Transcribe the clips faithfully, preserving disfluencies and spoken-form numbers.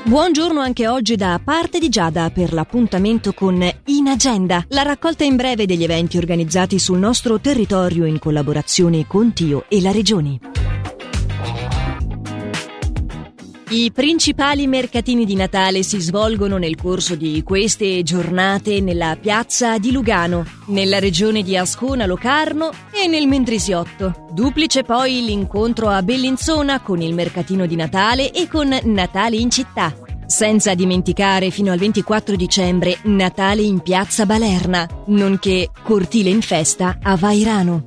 Buongiorno anche oggi da parte di Giada per l'appuntamento con In Agenda, la raccolta in breve degli eventi organizzati sul nostro territorio in collaborazione con Tio e la Regione. I principali mercatini di Natale si svolgono nel corso di queste giornate nella piazza di Lugano, nella regione di Ascona Locarno e nel Mendrisiotto. Duplice poi l'incontro a Bellinzona con il mercatino di Natale e con Natale in città. Senza dimenticare fino al ventiquattro dicembre Natale in piazza Balerna, nonché Cortile in festa a Vairano.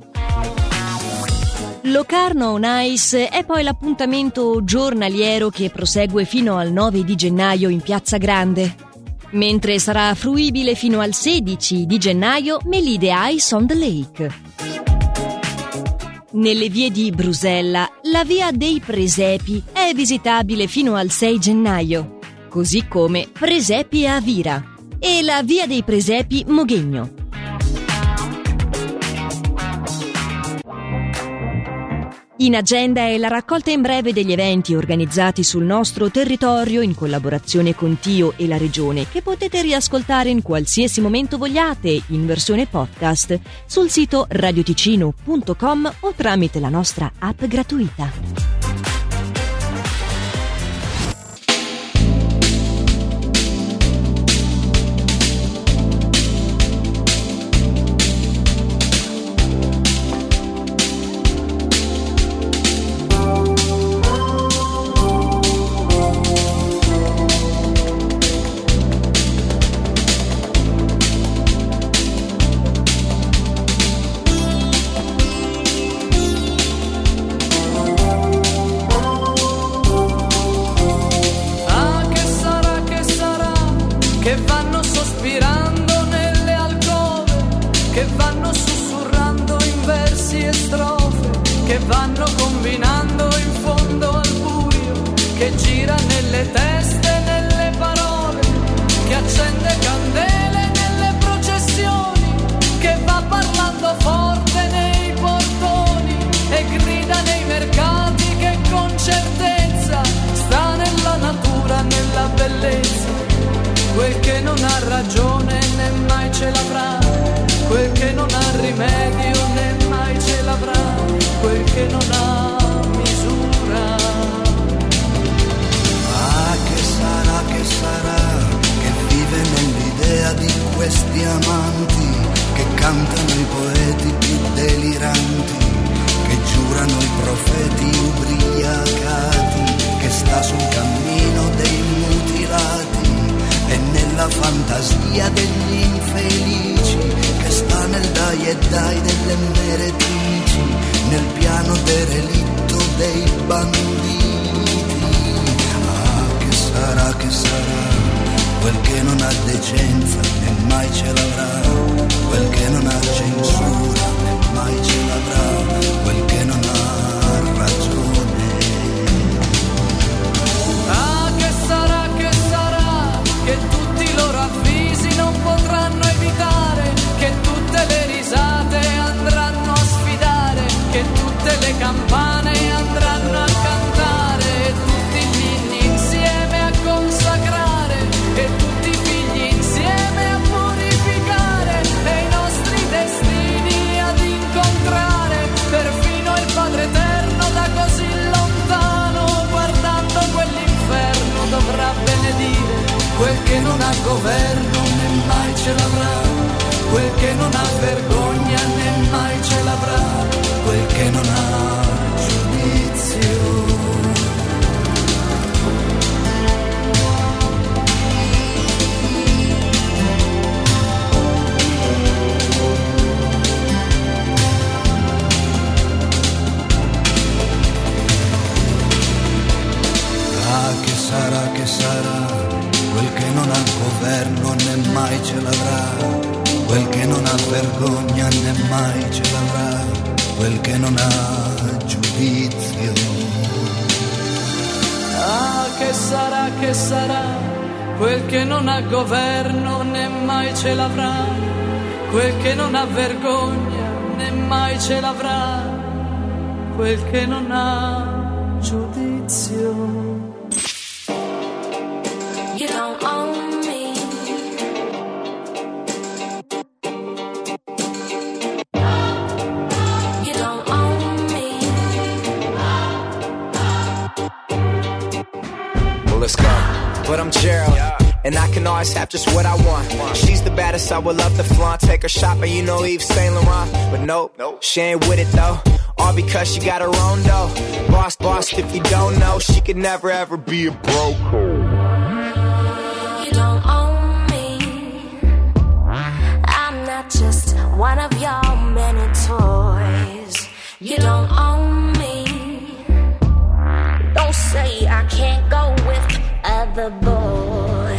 Locarno on Ice è poi l'appuntamento giornaliero che prosegue fino al nove di gennaio in Piazza Grande, mentre sarà fruibile fino al sedici di gennaio Melide Ice on the Lake. Nelle vie di Brusella, la via dei Presepi è visitabile fino al sei gennaio, così come Presepi a Vira e la via dei Presepi Moghegno. In Agenda è la raccolta in breve degli eventi organizzati sul nostro territorio in collaborazione con Tio e la Regione, che potete riascoltare in qualsiasi momento vogliate in versione podcast sul sito radioticino punto com o tramite la nostra app gratuita. Che vanno sospirando nelle alcove, che vanno sussurrando in versi e strofe, che vanno combinando in fondo al buio, che gira nelle teste, nelle parole, che accende candele nelle processioni, che va parlando forte nei portoni e grida nei mercati, che con certezza sta nella natura, nella bellezza. Quel che non ha ragione né mai ce l'avrà, quel che non ha rimedio né mai ce l'avrà, quel che non ha misura. Ah, che sarà, che sarà, che vive nell'idea di questi amanti, che cantano i poeti più deliranti, che giurano i profeti ubriacati, che sta sul cammino dei mutilati e nella fantasia degli infelici, che sta nel dai e dai delle meretrici, nel piano derelitto dei banditi. Ah, che sarà, che sarà, quel che non ha decenza né mai ce l'avrà, quel che non ha censura né mai ce l'avrà, quel che non ha ragione. Che tutti i loro avvisi non potranno evitare, che tutte le risate andranno a sfidare, che tutte le campane andranno a cantare, e tutti i figli insieme a consacrare, e tutti i figli insieme a purificare, e i nostri destini ad incontrare, perfino il Padre Eterno da così lontano, guardando quell'inferno dovrà benedire. Quel che non ha governo né mai ce l'avrà, quel che non ha vergogna né mai ce l'avrà, quel che non ha giudizio. Ah, che sarà, che sarà, quel che non ha governo né mai ce l'avrà, quel che non ha vergogna né mai ce l'avrà, quel che non ha giudizio. Ah, che sarà, che sarà, quel che non ha governo né mai ce l'avrà, quel che non ha vergogna né mai ce l'avrà, quel che non ha giudizio. let's go. But I'm Gerald, and I can always have just what I want. She's the baddest, I would love to flaunt. Take her shopping, you know Yves Saint Laurent. But nope, she ain't with it though. All because she got her own dough. Boss, boss, if you don't know, she could never ever be a broke. You don't own me. I'm not just one of your many toys. You don't own me. Don't say I can't go with other boys.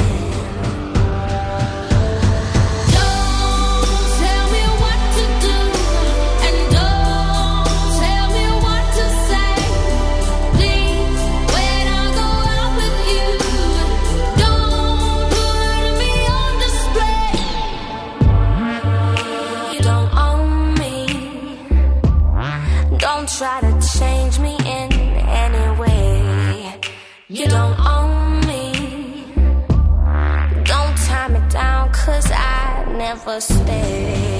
Try to change me in any way. You don't own me. Don't tie me down, cause I never stay.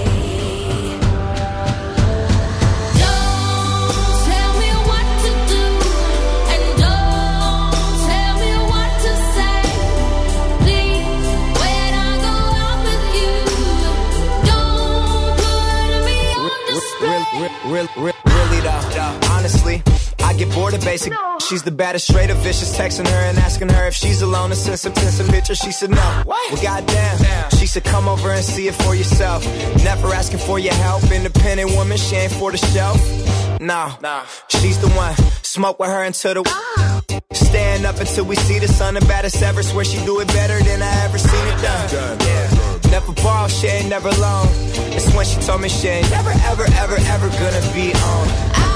Really, really, really though, honestly, I get bored of basic. She's the baddest, straight up vicious. Texting her and asking her if she's alone and send some, send some pictures. She said no. Well, goddamn. She said come over and see it for yourself. Never asking for your help. Independent woman, she ain't for the shelf. No, she's the one. Smoke with her until the stand up until we see the sun. The baddest ever. Swear she do it better than I ever seen it done. Yeah. Never borrow, she ain't never alone. It's when she told me she ain't never, ever, ever, ever gonna be on.